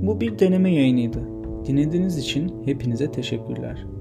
Bu bir deneme yayınıydı. Dinlediğiniz için hepinize teşekkürler.